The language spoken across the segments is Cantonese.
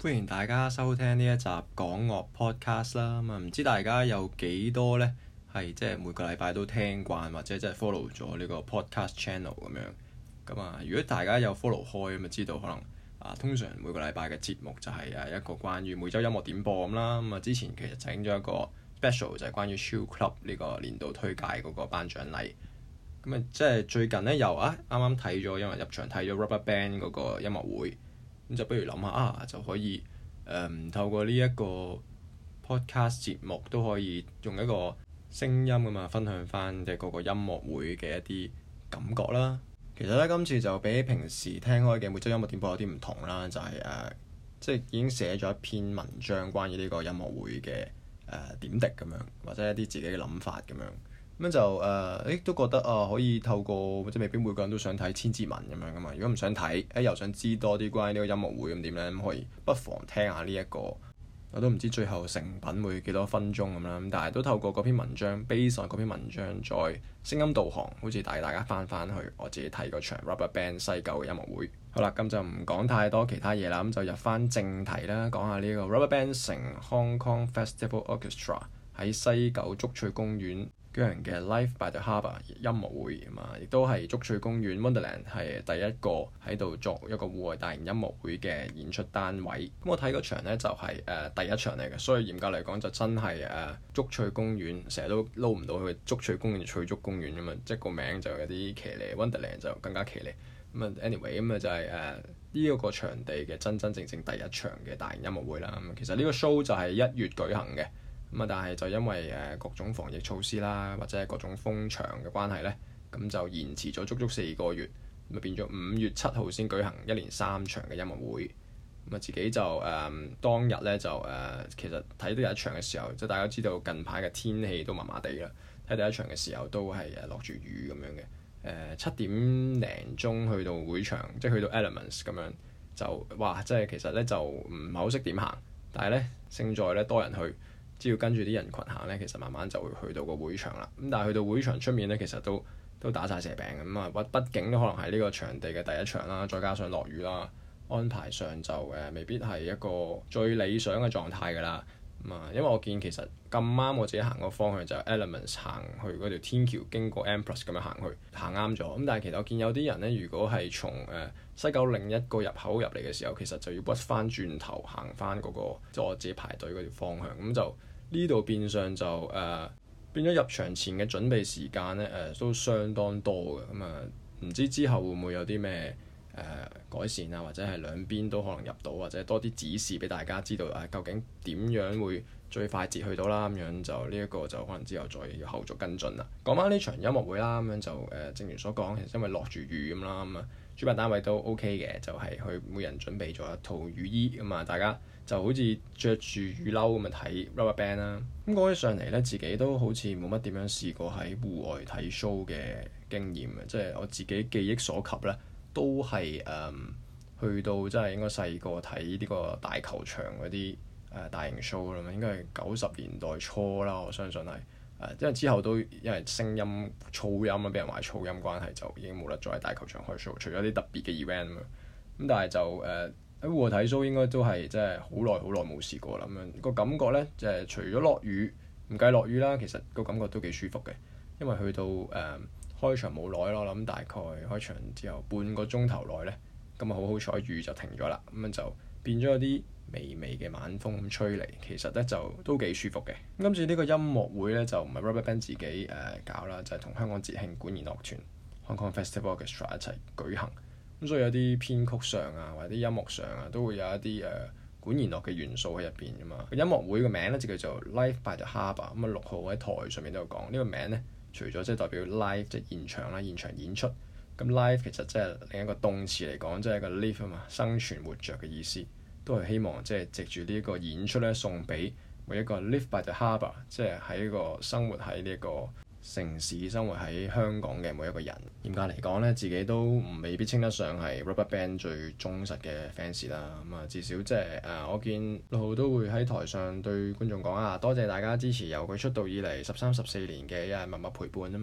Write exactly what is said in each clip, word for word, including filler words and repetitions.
歡迎大家收聽呢一集港樂 podcast 啦。咁啊，唔知大家有幾多呢？係即係每個禮拜都聽慣或者即係 follow 咗呢個 podcast channel 咁樣。咁啊，如果大家有 follow 開咁啊，知道可能啊，通常每個禮拜嘅節目就係誒一個關於每週音樂點播咁啦。咁啊，之前其實整咗一個 special 就係關於 Chill Club 呢個年度推介嗰個頒獎禮。咁啊，即係最近呢，又啊啱啱睇咗，因為入場睇咗 RubberBand 嗰個音樂會。咁就不如諗下啊，就可以誒、嗯、透過呢一個 podcast 節目都可以用一個聲音咁啊，分享翻嘅嗰個音樂會嘅一啲感覺啦。其實咧，今次就比平時聽開嘅每週音樂點播有啲唔同啦，就係、是、誒、呃、即係已經寫咗一篇文章關於呢個音樂會嘅誒、呃、點滴咁樣，或者一啲自己嘅諗法咁樣。咁就誒，誒、呃、都覺得啊，可以透過即係未必每個人都想睇千字文咁樣噶嘛。如果唔想睇，誒又想知多啲關於呢個音樂會咁點咧，咁可以不妨聽下呢、這、一個。我都唔知最後成品會幾多分鐘咁啦。咁但係都透過嗰篇文章 base on 嗰篇文章再聲音導航，好似帶大家翻翻去我自己睇嗰場 RubberBand 西九嘅音樂會。好啦，咁就唔講太多其他嘢啦，咁就入翻正題啦，講下呢個 RubberBand 乘 Hong Kong Festival Orchestra 喺西九竹翠公園舉行嘅 Live by the Harbour 音樂會啊嘛，亦都係竹翠公園 Wonderland 係第一個喺度作一個戶外大型音樂會嘅演出單位。咁我睇嗰場呢就係、是、誒、呃、第一場嚟嘅，所以嚴格嚟講就真係誒、呃、竹翠公園，成日都撈唔到佢竹翠公園翠竹公園咁嘛，即係個名就有啲騎呢 Wonderland 就更加騎呢。咁啊 anyway 咁啊就係誒呢一個場地嘅真真正正第一場嘅大型音樂會啦。咁其實呢個 show 就係一月舉行嘅。咁啊，但係就因為誒各種防疫措施啦，或者係各種封場嘅關係咧，咁就延遲咗足足四個月，咁啊變咗五月七號先舉行一連三場嘅音樂會。咁啊自己就誒、呃、當日咧就誒、呃、其實睇第一場嘅時候，即係大家知道近排嘅天氣都麻麻地啦。睇第一場嘅時候都係誒落住雨咁樣嘅。誒、呃、七點零鐘去到會場，即係去到 Elements 咁樣就哇！即係其實咧就唔係好識點行，但係咧勝在咧多人去。只要跟住啲人群行咧，其實慢慢就會去到個會場啦。咁但係去到會場出面咧，其實都都打晒蛇餅咁啊！畢竟都可能係呢個場地嘅第一場啦，再加上落雨啦，安排上就誒、呃、未必係一個最理想嘅狀態㗎啦。咁啊，因為我見其實咁啱我自己行個方向就 Elements 行去嗰條天橋，經過 M+ 咁樣行去行啱咗。咁但係其實我見有啲人咧，如果係從誒、呃、西九另一個入口入嚟嘅時候，其實就要屈翻轉頭行翻嗰個即係我自己排隊嗰條方向，咁就。呢度變相就誒、呃、變咗入場前嘅準備時間咧誒、呃、都相當多嘅。咁啊唔知之後會唔會有啲咩誒改善啊，或者係兩邊都可能入到，或者多啲指示俾大家知道啊，究竟點樣會最快捷去到啦。咁樣就呢一個就可能之後再要後續跟進啦。講翻呢場音樂會啦，咁樣就誒、呃、正如所講，其實因為落住雨咁啦，咁啊主辦單位都 OK 嘅，就係、是、佢每人準備咗一套雨衣咁啊，大家就好似着住雨褸咁啊睇 RubberBand 啦。咁講起上嚟咧，自己都好似冇乜點樣試過喺戶外睇 show 嘅經驗嘅，即係我自己記憶所及咧，都係誒、嗯、去到即係應該細個睇呢個大球場嗰啲誒大型 show 啦嘛，應該係九十年代初啦，我相信係誒，因為之後都因為聲音噪音啊，俾人話噪音關係，就已經冇得再喺大球場開 show，除咗啲特別嘅 event 咁樣。咁但係就誒。呃喺戶外睇 show 應該都係真係好耐好耐冇試過啦，咁樣個感覺咧，就係、是、除咗落雨唔計落雨啦，其實個感覺都幾舒服嘅，因為去到誒、呃、開場冇耐咯，我諗大概開場之後半個鐘頭內咧，咁啊好好彩雨就停咗啦，咁樣就變咗有啲微微嘅晚風咁吹嚟，其實咧就都幾舒服嘅。今次呢個音樂會咧就唔係 RubberBand 自己誒、呃、搞啦，就係、是、同香港節慶管弦樂團 Hong Kong Festival Orchestra 一齊舉行。咁所以有啲編曲上啊，或者啲音樂上啊，都會有一啲誒、呃、管弦樂嘅元素喺入邊㗎嘛。音樂會個名咧就叫做 Live by the Harbour。咁啊六號喺台上面都有講呢個名咧，除咗即係代表 live 即係現場啦，現場演出。咁 live 其實即係另一個動詞嚟講，即係一個 live 啊嘛，生存活着嘅意思，都係希望即係藉住呢一個演出咧，送俾每一個 Live by the Harbour，即係喺呢個生活喺呢一個城市生活喺香港嘅每一個人。嚴格嚟講咧，自己都唔未必稱得上係 RubberBand 最忠實嘅 fans 啦。咁啊，至少即係誒，我見六號都會喺台上對觀眾講啊，多謝大家支持由佢出道以嚟十三十四年嘅一日默默陪伴咁樣。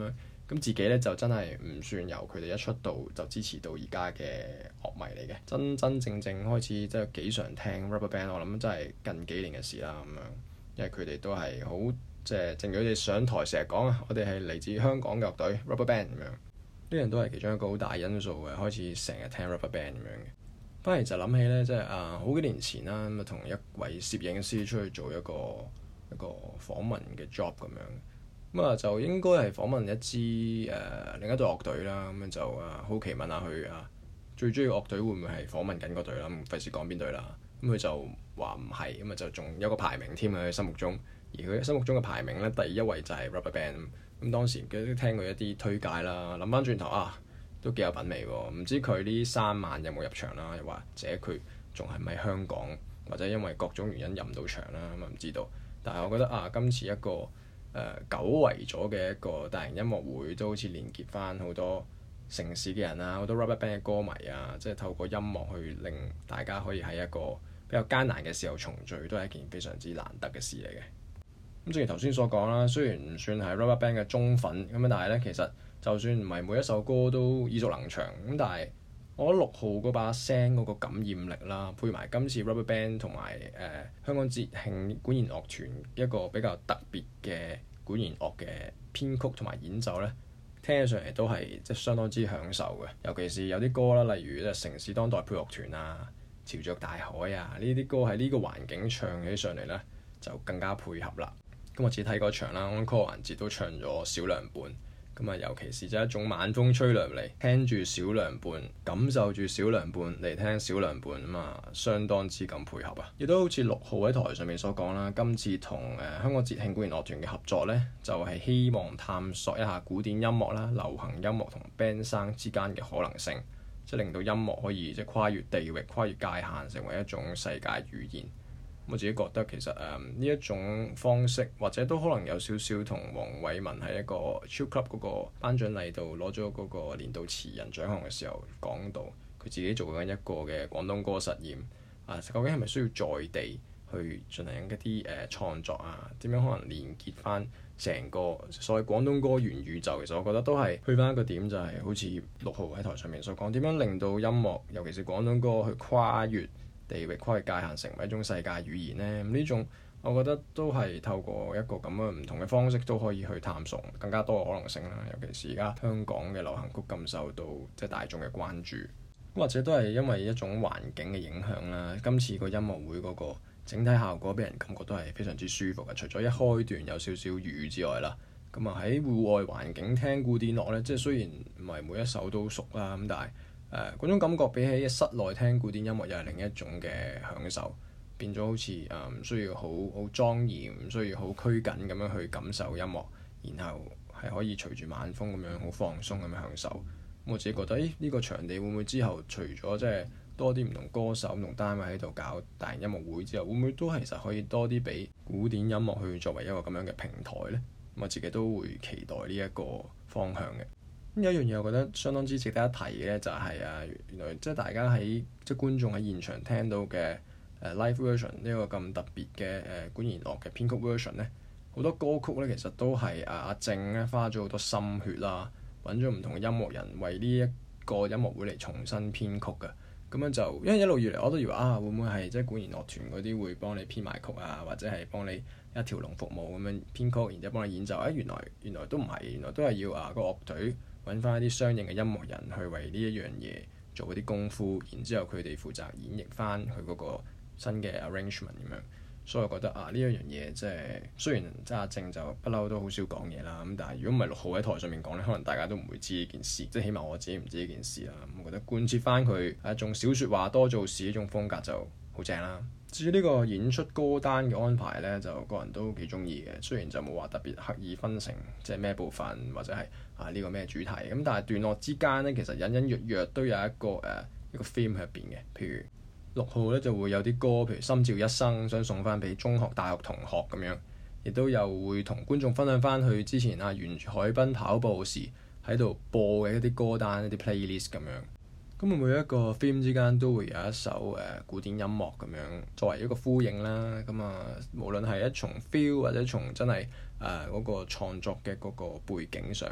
咁自己咧就真係唔算由佢哋一出道就支持到而家嘅樂迷嚟嘅，真真正正開始即係幾常聽 RubberBand， 我諗真係近幾年嘅事啦咁樣，因為佢哋都係好即係正如佢哋上台成日講啊，我哋係嚟自香港嘅樂隊 RubberBand 咁樣，呢樣都係其中一個好大因素嘅，開始成日聽 RubberBand 咁樣嘅。反而就諗起咧，即係啊好幾年前啦，咁啊同一位攝影師出去做一個一個訪問嘅 job 咁樣。咁啊，就應該係訪問一支誒、呃、另一隊樂隊啦。咁樣就啊，好奇問下佢啊，最中意樂隊會唔會係訪問緊嗰隊啦？咁費事講邊隊啦。咁佢就話唔係，咁啊就仲有個排名添喺佢心目中。而佢心目中嘅排名咧，第一位就係 RubberBand。咁當時佢都聽過一啲推介啦，諗翻轉頭啊，都幾有品味喎。唔知佢呢三晚有冇入場啦？又或者佢仲係咪香港，或者因為各種原因入唔到場啦？咁啊唔知道。但係我覺得啊，今次一個誒、呃、久違咗嘅一個大型音樂會，都好似連結翻好多城市嘅人啊，好多 RubberBand 嘅歌迷啊，即係透過音樂去令大家可以喺一個比較艱難嘅時候重聚，都係一件非常之難得嘅事嚟嘅。咁正如頭先所講啦，雖然唔算係 RubberBand 嘅忠粉咁樣，但係咧其實就算唔係每一首歌都耳熟能詳咁，但係我覺得六號嗰把聲嗰個感染力啦，配埋今次 RubberBand 同埋誒香港節慶管弦樂團一個比較特別嘅管弦樂嘅編曲同埋演奏咧，聽起上嚟都係即係相當之享受嘅。尤其是有啲歌啦，例如咧城市當代配樂團啊、潮著大海啊呢啲歌喺呢個環境唱起上嚟咧，就更加配合啦。咁我自己睇嗰場啦，安可環節都唱咗小涼伴。咁啊，尤其是就一種晚風吹來嚟，聽住小涼伴，感受住小涼伴嚟聽小涼伴啊嘛，相當之咁配合啊！亦都好似六號喺台上面所講啦，今次同誒、呃、香港節慶管弦樂團嘅合作呢，就係、是、希望探索一下古典音樂啦、流行音樂同 band 生之間嘅可能性，即係令到音樂可以即係跨越地域、跨越界限，成為一種世界語言。我自己覺得其實誒呢、嗯、一種方式，或者都可能有少少同黃偉文喺一個 Chill Club 嗰個頒獎禮度攞咗嗰個年度詞人獎項嘅時候講到，佢自己做緊一個嘅廣東歌實驗啊，究竟係咪需要在地去進行一啲誒、呃、創作啊？點樣可能連結翻成個所謂廣東歌元宇宙？其實我覺得都係去翻一個點，就係好似六號喺台上面所講，點樣令到音樂，尤其是廣東歌去跨越地域跨越界限，成為一種世界語言呢，咁呢種我覺得都係透過一個咁樣唔同嘅方式都可以去探索更加多嘅可能性啦。尤其是而家香港嘅流行曲咁受到即係大眾嘅關注，或者都係因為一種環境嘅影響啦。今次個音樂會嗰個整體效果俾人感覺都係非常之舒服嘅。除咗一開段有少少雨之外啦，咁啊喺戶外環境聽古典樂呢，即係雖然唔係每一首都熟啦，咁但係誒嗰、呃、種感覺比起室內聽古典音樂又係另一種嘅享受，變咗好似誒唔需要好好莊嚴，唔需要好拘謹咁樣去感受音樂，然後係可以隨住晚風咁樣好放鬆咁樣享受。我自己覺得，誒呢、呢個場地會唔會之後除咗即係多啲唔同歌手、唔同單位喺度搞大型音樂會之後，會唔會都其實可以多啲俾古典音樂去作為一個咁樣嘅平台呢？我自己都會期待呢一個方向嘅。有一樣嘢我覺得相當之值得一提嘅咧，就係啊，原來即係大家喺即係觀眾喺現場聽到嘅誒 live version 呢個咁特別嘅誒管弦樂嘅編曲 version 咧，好多歌曲咧其實都係啊阿正咧花咗好多心血啦，揾咗唔同嘅音樂人為呢一個音樂會嚟重新編曲嘅。咁樣就因為一路以嚟我都以為啊，會唔會係即係管弦樂團嗰啲會幫你編埋曲啊，或者係幫你一條龍服務咁樣編曲，然之後幫你演奏。誒、哎、原來原來都唔係，原來都係要啊個樂隊揾翻一啲相應嘅音樂人去為呢一樣嘢做嗰啲功夫，然之後佢哋負責演繹翻佢嗰個新嘅 arrangement 咁樣。所以我覺得啊，呢一樣嘢即係雖然即係阿正就不嬲都好少講嘢啦，咁但係如果唔係六號喺台上面講咧，可能大家都唔會知呢件事，即係起碼我自己唔知呢件事啦。咁我覺得貫徹翻佢係一種少説話多做事呢種風格就好正啦。至於呢個演出歌單嘅安排咧，就個人都幾中意嘅。雖然就冇話特別刻意分成即係咩部分或者係啊呢個咩主題咁，但係段落之間咧，其實隱隱約約都有一個誒、uh, 一個 theme 喺入邊嘅。譬如六號咧就會有啲歌，譬如心照一生想送翻俾中學、大學同學咁樣，亦都有會同觀眾分享翻去之前啊沿住海濱跑步時喺度播嘅一啲歌單、一啲 playlist 咁樣。咁每一個 theme 之間都會有一首誒、呃、古典音樂咁樣作為一個呼應啦。咁啊，無論係一從 feel 或者從真係誒嗰個創作嘅嗰個背景上，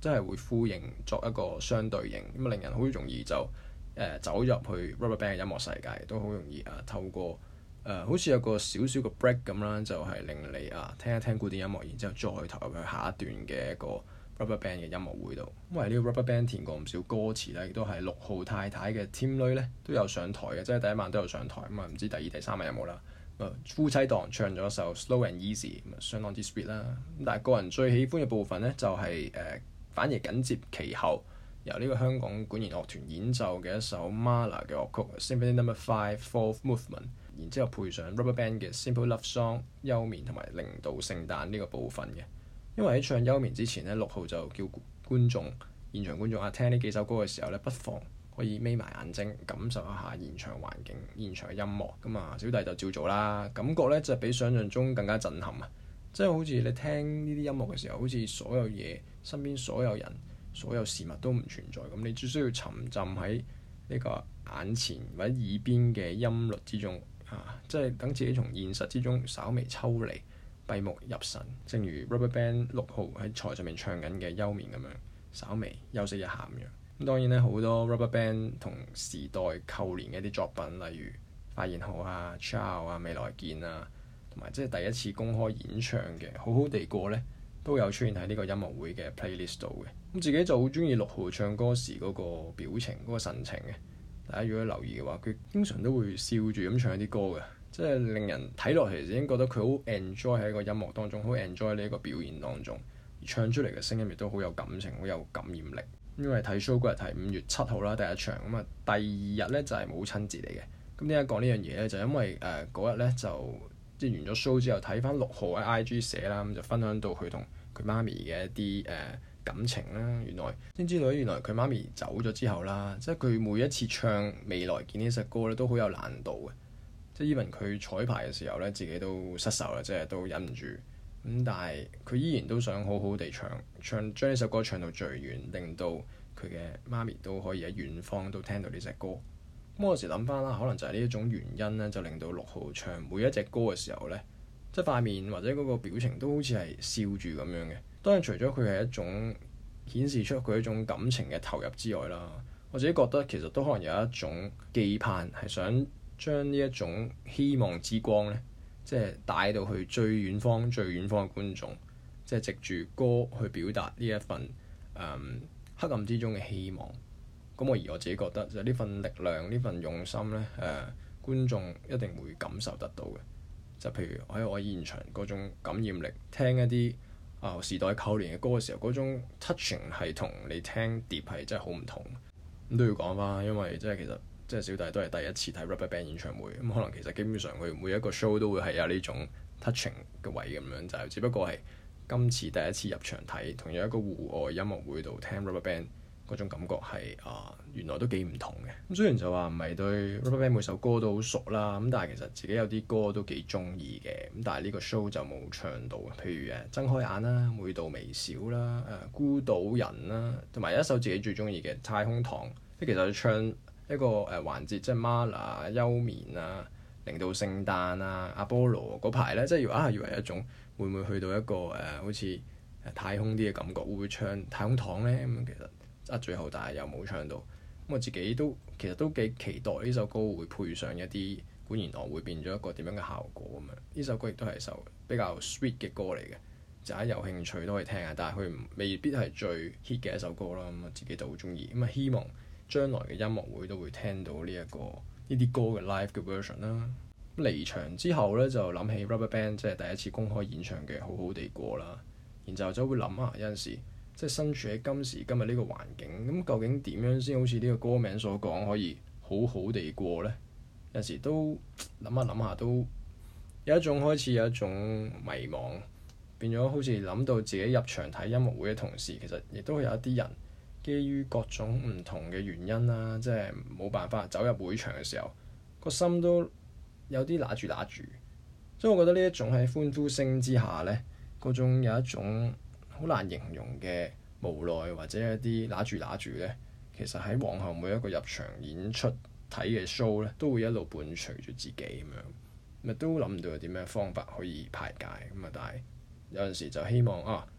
真係會呼應作一個相對應，咁啊令人好容易就誒、呃、走入去 RubberBand 嘅音樂世界，都好容易啊透過誒、呃、好似有個少少嘅 break 咁啦，就係、是、令你啊聽一聽古典音樂，然之後再投入去下一段嘅一個 RubberBand 嘅音樂會度。因為呢個 RubberBand 填過唔少歌詞咧，亦都係六號太太嘅 team 女咧都有上台嘅，即係第一晚都有上台，咁啊唔知第二、第三晚有冇啦。夫妻檔唱咗首 Slow and Easy， 相當之 sweet 啦。咁但係個人最喜歡嘅部分咧，就係、是、誒、呃、反而緊接其後由呢個香港管弦樂團演奏嘅一首 Mahler 嘅樂曲 Symphony Number Five Fourth Movement， 然之後配上 RubberBand 嘅 Simple Love Song 休眠同埋零度聖誕呢個部分嘅。因為喺唱休眠之前咧，六號就叫觀眾現場觀眾啊聽呢幾首歌嘅時候咧，不妨可以眯埋眼睛感受一下現場環境、現場嘅音樂。咁啊，小弟就照做啦，感覺咧就比想像中更加震撼啊！即係好似你聽呢啲音樂嘅時候，好似所有嘢、身邊所有人、所有事物都唔存在咁，你只需要沉浸喺呢個眼前或者耳邊嘅音律之中啊！即係等自己從現實之中稍微抽離、閉目入神，正如 RubberBand 六號喺台上面唱緊嘅休眠咁樣，稍微休息一下咁樣。咁當然咧，好多 RubberBand 同時代扣連嘅一啲作品，例如發現好啊、Ciao 啊、未來見啊，同埋即係第一次公開演唱嘅好好地過咧，都有出現喺呢個音樂會嘅 playlist 度嘅。咁自己就好中意六號唱歌時嗰個表情、嗰個神情嘅。大家如果留意嘅話，佢經常都會笑住咁唱一啲歌嘅，即係令人睇落嚟已經覺得佢好 enjoy 喺一個音樂當中，好 enjoy 呢一個表演當中，而唱出嚟嘅聲音亦都好有感情、好有感染力。因為睇 show 嗰日係五月七號啦，第一場咁啊，第二日咧就係母親節嚟嘅。咁點解講呢樣嘢咧？就因為誒嗰日咧就即係完咗 show 之後睇翻六號喺 I G 寫啦，咁就分享到佢同佢媽咪嘅一啲誒、呃、感情啦。原來先知道原來佢媽咪走咗之後啦，即係佢每一次唱未來見呢隻歌咧都好有難度嘅。即係 even 佢彩排嘅時候咧，自己都失手啦，即係都忍唔住。咁但係佢依然都想好好地唱唱將呢首歌唱到最遠，令到佢嘅媽咪都可以喺遠方都聽到呢隻歌。咁我有時諗翻啦，可能就係呢一種原因咧，就令到六號唱每一隻歌嘅時候咧，即係塊面或者嗰個表情都好似係笑住咁樣嘅。當然除咗佢係一種顯示出佢一種感情嘅投入之外啦，我自己覺得其實都可能有一種寄盼，係想將呢一種希望之光咧，即係帶到去最遠方、最遠方嘅觀眾，即係藉住歌去表達呢一份誒、嗯、黑暗之中嘅希望。咁我而我自己覺得就呢份力量、呢份用心咧，誒、呃、觀眾一定會感受得到嘅。就譬如喺我現場嗰種感染力，聽一啲啊、呃、時代扣連嘅歌嘅時候，嗰種 touching 係同你聽碟係真係好唔同。咁都要講翻，因為即係其實。即係小弟都係第一次睇 RubberBand 演唱會，咁可能其實基本上佢每一個 show 都會係有呢種 touching 嘅位咁樣，就係只不過係今次第一次入場睇，同樣一個戶外音樂會度聽 RubberBand 嗰種感覺係啊、呃，原來都幾唔同嘅。咁雖然就話唔係對 RubberBand 每首歌都好熟啦，咁但係其實自己有啲歌都幾中意嘅。咁但係呢個 show 就冇唱到，譬如誒睜開眼啦、每道微笑啦、誒、呃、孤島人啦，同埋一首自己最中意嘅太空堂。即其實唱一個誒、呃、環節，即係 Mahler 休眠啊、零度聖誕啊、阿波羅嗰排咧，即係要啊，以為一種會唔會去到一個誒、呃、好似太空啲嘅感覺，會唔會唱太空堂咧？咁、嗯、其實啊，最後但係又冇唱到。咁、嗯、我自己都其實都幾期待呢首歌會配上一啲管弦樂，會變咗一個點樣嘅效果咁樣。呢首歌亦都係首比較 sweet 嘅歌嚟嘅，就係有興趣都可以聽下。但係佢未必係最 hit 嘅一首歌啦。咁、嗯、我自己就好中意。咁、嗯、啊，希望將來嘅音樂會都會聽到呢、這、一個呢啲歌嘅 live 嘅 version 啦。離場之後咧，就諗起 RubberBand 即係第一次公開演唱嘅好好地過啦。然之後就會諗啊，有陣時即係身處喺今時今日呢個環境，咁究竟點樣先好似呢個歌名所講可以好好地過咧？有陣時都諗下諗下都有一種開始有一種迷茫，變咗好似諗到自己入場睇音樂會嘅同時，其實亦都有一啲人。基於各種唔同嘅原因啦，即係冇辦法走入會場嘅時候，個心都有啲揦住揦住。所以我覺得呢一種喺歡呼聲之下呢，嗰種有一種好難形容嘅無奈或者一啲揦住揦住呢，其實喺往後每一個入場演出睇嘅 show 呢，都會一路伴隨住自己咁樣，咪都諗唔到有啲咩方法可以排解咁啊！但係有陣時就希望啊〜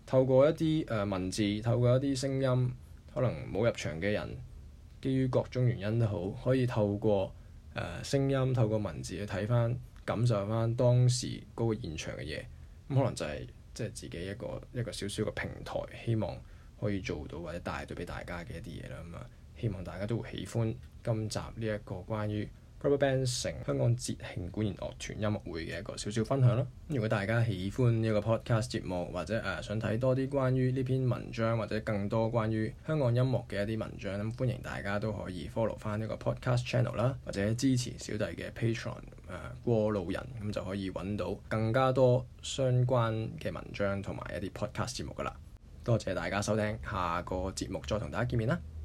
透過一啲誒、呃、文字，透過一啲聲音，可能冇入場嘅人，基於各種原因都好，可以透過誒、呃、聲音，透過文字去睇翻、感受翻當時嗰個現場嘅嘢。咁可能就係即係自己一個一個小小嘅平台，希望可以做到或者帶到俾大家嘅一啲嘢啦。咁啊，希望大家都會喜歡今集呢一個關於 RubberBand 城香港節慶管弦樂團音樂會嘅一個少少分享啦。如果大家喜歡呢個 podcast 節目，或者誒、呃、想睇多啲關於呢篇文章，或者更多關於香港音樂嘅一啲文章，咁歡迎大家都可以 follow 翻呢個 podcast channel 啦，或者支持小弟嘅 Patreon 誒、呃、過路人，咁就可以揾到更加多相關嘅文章同埋一啲 podcast 節目噶啦。多謝大家收聽，下個節目再同大家見面啦。